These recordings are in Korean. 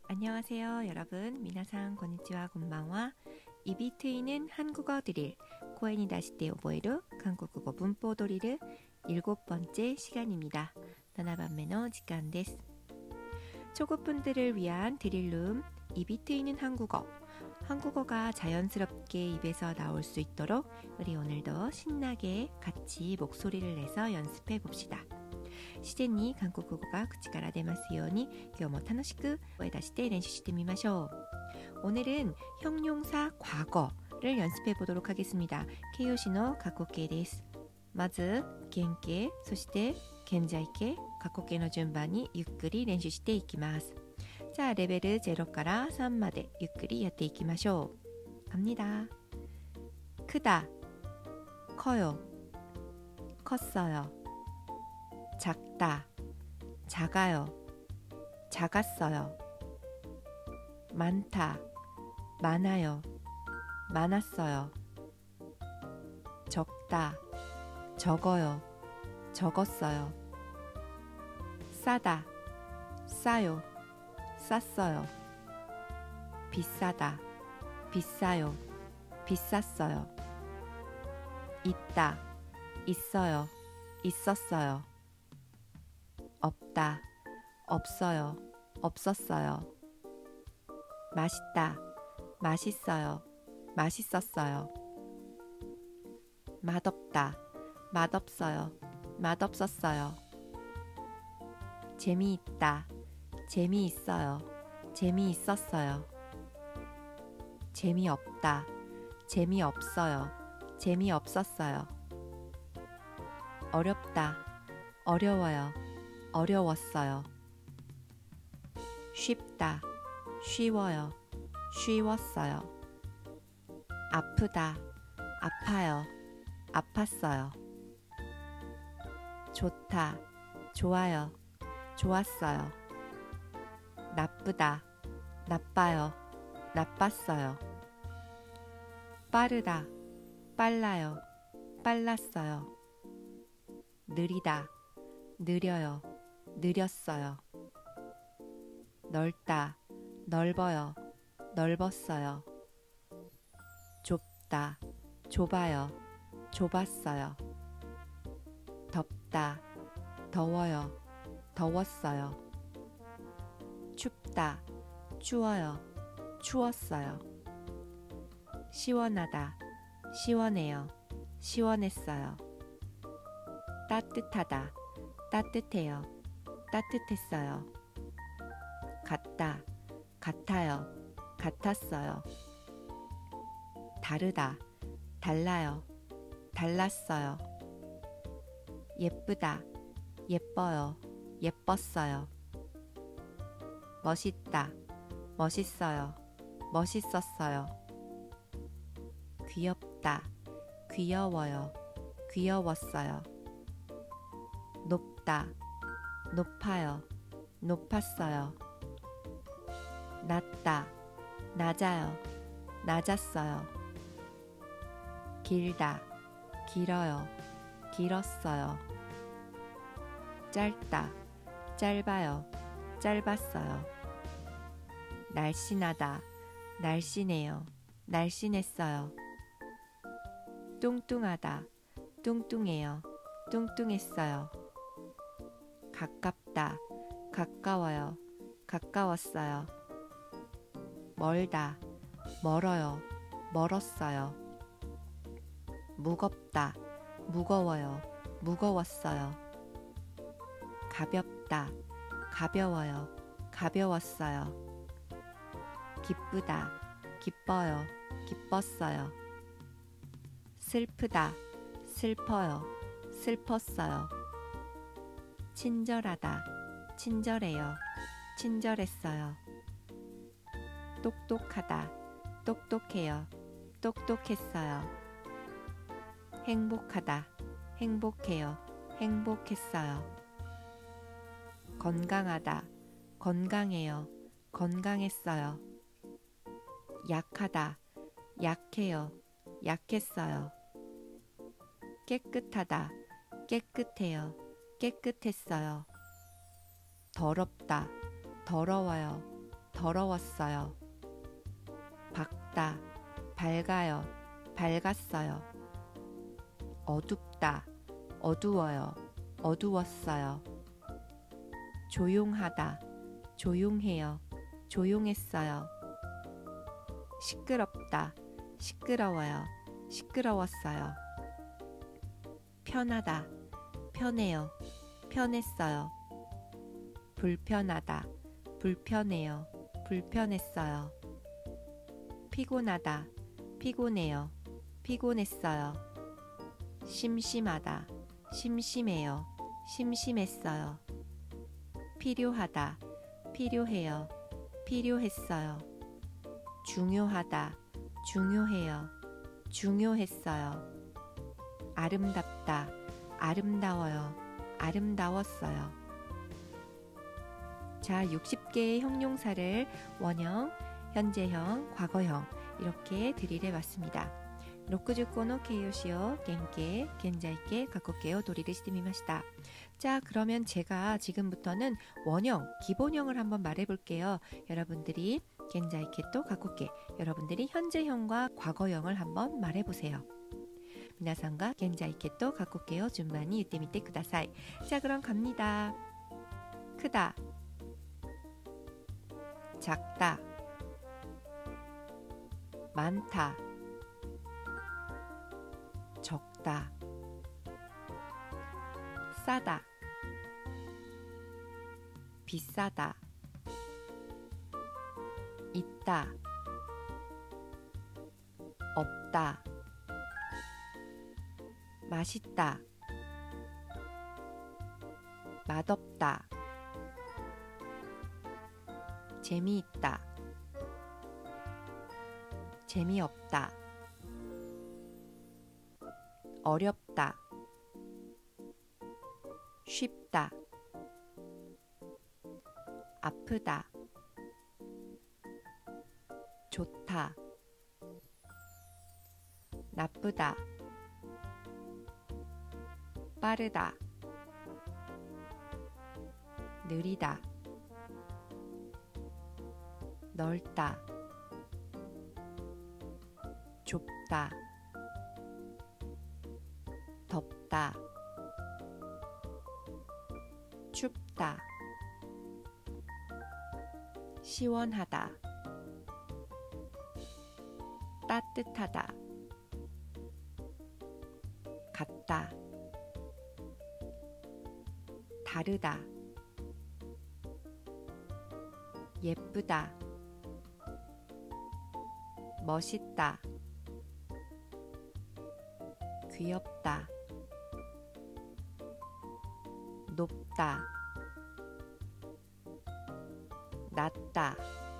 안녕하세요, 여러분. 미나상 konnichiwa, konbanwa. 입이 트이는 한국어 드릴 코엔이 다시테 오보에루 한국어 문법 드릴 7번째 시간입니다. 나나반메노 시간 데스. 초급분들을 위한 드릴룸 입이 트이는 한국어. 한국어가 자연스럽게 입에서 나올 수 있도록 우리 오늘도 신나게 같이 목소리를 내서 연습해 봅시다. 自然に韓国語が口から出ますように今日も楽しく声出して練習してみましょう。 오늘은 형용사 과거를 연습해 보도록 하겠습니다.形容詞の 過去形です。まず現形、そして現在形、過去形の順番にゆっくり練習していきます。자, 레벨 0から3までゆっくりやっていきましょう。 갑니다. 크다, 커요, 컸어요. 작다, 작아요, 작았어요. 많다, 많아요, 많았어요. 적다, 적어요, 적었어요. 싸다, 싸요, 쌌어요. 비싸다, 비싸요, 비쌌어요. 있다, 있어요, 있었어요. 없다, 없어요, 없었어요. 맛있다, 맛있어요, 맛있었어요. 맛없다, 맛없어요, 맛없었어요. 재미있다, 재미있어요, 재미있었어요. 재미없다, 재미없어요, 재미없었어요. 어렵다, 어려워요, 어려웠어요. 쉽다, 쉬워요, 쉬웠어요. 아프다, 아파요, 아팠어요. 좋다, 좋아요, 좋았어요. 나쁘다, 나빠요, 나빴어요. 빠르다, 빨라요, 빨랐어요. 느리다, 느려요, 느렸어요. 넓다, 넓어요, 넓었어요. 좁다, 좁아요, 좁았어요. 덥다, 더워요, 더웠어요. 춥다, 추워요, 추웠어요. 시원하다, 시원해요, 시원했어요. 따뜻하다, 따뜻해요, 따뜻했어요. 같다, 같아요, 같았어요. 다르다, 달라요, 달랐어요. 예쁘다, 예뻐요, 예뻤어요. 멋있다, 멋있어요, 멋있었어요. 귀엽다, 귀여워요, 귀여웠어요. 높다, 높아요, 높았어요. 낮다, 낮아요, 낮았어요. 길다, 길어요, 길었어요. 짧다, 짧아요, 짧았어요. 날씬하다, 날씬해요, 날씬했어요. 뚱뚱하다, 뚱뚱해요, 뚱뚱했어요. 가깝다, 가까워요, 가까웠어요. 멀다, 멀어요, 멀었어요. 무겁다, 무거워요, 무거웠어요. 가볍다, 가벼워요, 가벼웠어요. 기쁘다, 기뻐요, 기뻤어요. 슬프다, 슬퍼요, 슬펐어요. 친절하다, 친절해요, 친절했어요. 똑똑하다, 똑똑해요, 똑똑했어요. 행복하다, 행복해요, 행복했어요. 건강하다, 건강해요, 건강했어요. 약하다, 약해요, 약했어요. 깨끗하다, 깨끗해요, 깨끗했어요. 더럽다, 더러워요, 더러웠어요. 밝다, 밝아요, 밝았어요. 어둡다, 어두워요, 어두웠어요. 조용하다, 조용해요, 조용했어요. 시끄럽다, 시끄러워요, 시끄러웠어요. 편하다, 편해요, 편했어요. 불편하다, 불편해요, 불편했어요. 피곤하다, 피곤해요, 피곤했어요. 심심하다, 심심해요, 심심했어요. 필요하다, 필요해요, 필요했어요. 중요하다, 중요해요, 중요했어요. 아름답다, 아름다워요, 아름다웠어요. 자, 60개의 형용사를 원형, 현재형, 과거형 이렇게 드릴해 봤습니다. 60の形容詞を原型、現在形、過去形をドリルしてみました。 자, 그러면 제가 지금부터는 원형, 기본형을 한번 말해 볼게요. 여러분들이 現在形と過去形, 여러분들이 현재형과 과거형을 한번 말해 보세요. 皆さんが現在形と過去形を順番に言ってみてください。 자, 그럼 갑니다. 크다, 작다, 많다, 적다, 싸다, 비싸다, 있다, 없다, 맛있다, 맛없다, 재미있다, 재미없다, 어렵다, 쉽다, 아프다, 좋다, 나쁘다, 빠르다, 느리다, 넓다, 좁다, 덥다, 춥다, 시원하다, 따뜻하다, 같다, 다르다, 예쁘다, 멋있다, 귀엽다, 높다, 낮다,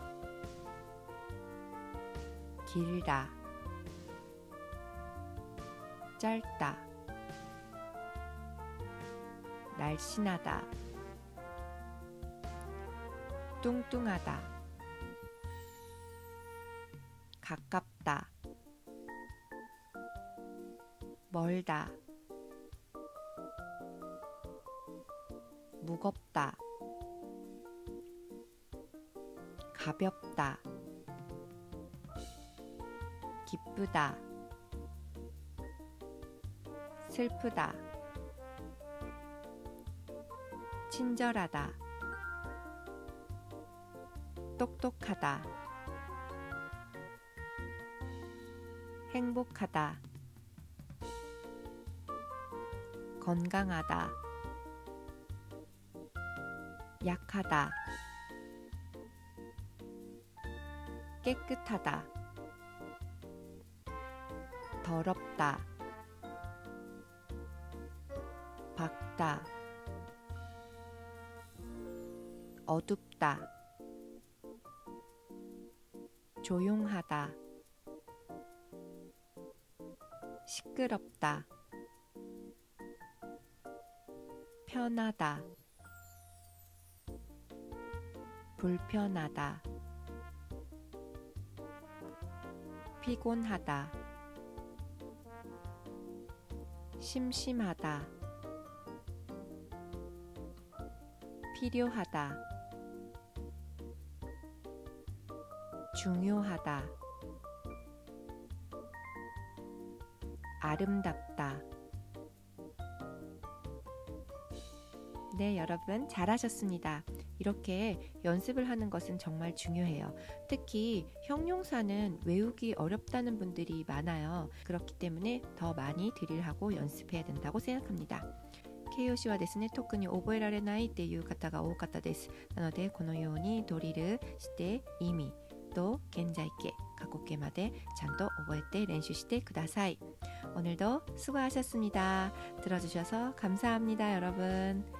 길다, 짧다, 날씬하다, 뚱뚱하다, 가깝다, 멀다, 무겁다, 가볍다, 기쁘다, 슬프다, 친절하다, 똑똑하다, 행복하다, 건강하다, 약하다, 깨끗하다, 더럽다, 밝다, 어둡다, 조용하다, 시끄럽다, 편하다, 불편하다, 피곤하다, 심심하다, 필요하다, 중요하다, 아름답다. 네, 여러분 잘하셨습니다. 이렇게 연습을 하는 것은 정말 중요해요. 특히 형용사는 외우기 어렵다는 분들이 많아요. 그렇기 때문에 더 많이 드릴하고 연습해야 된다고 생각합니다. 形容詞はですね、特に覚えられないっていう方が多かったです。なのでこのようにドリルして意味또現在形、過去形までちゃんと覚えて練習してください。오늘도 수고하셨습니다. 들어주셔서 감사합니다, 여러분.